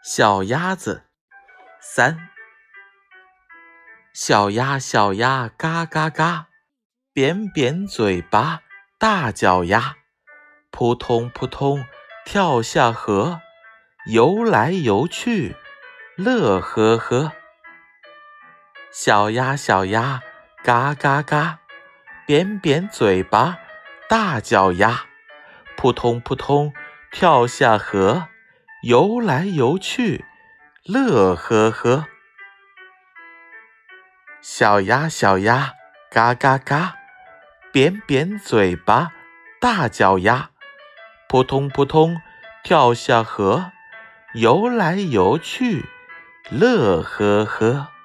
小鸭子三。小鸭小鸭嘎嘎嘎，扁扁嘴巴大脚丫，扑通扑通跳下河，游来游去乐呵呵。小鸭小鸭嘎嘎嘎，扁扁嘴巴大脚丫，扑通扑通跳下河，游来游去乐呵呵。小鸭小鸭嘎嘎嘎，扁扁嘴巴大脚丫，扑通扑通跳下河，游来游去乐呵呵。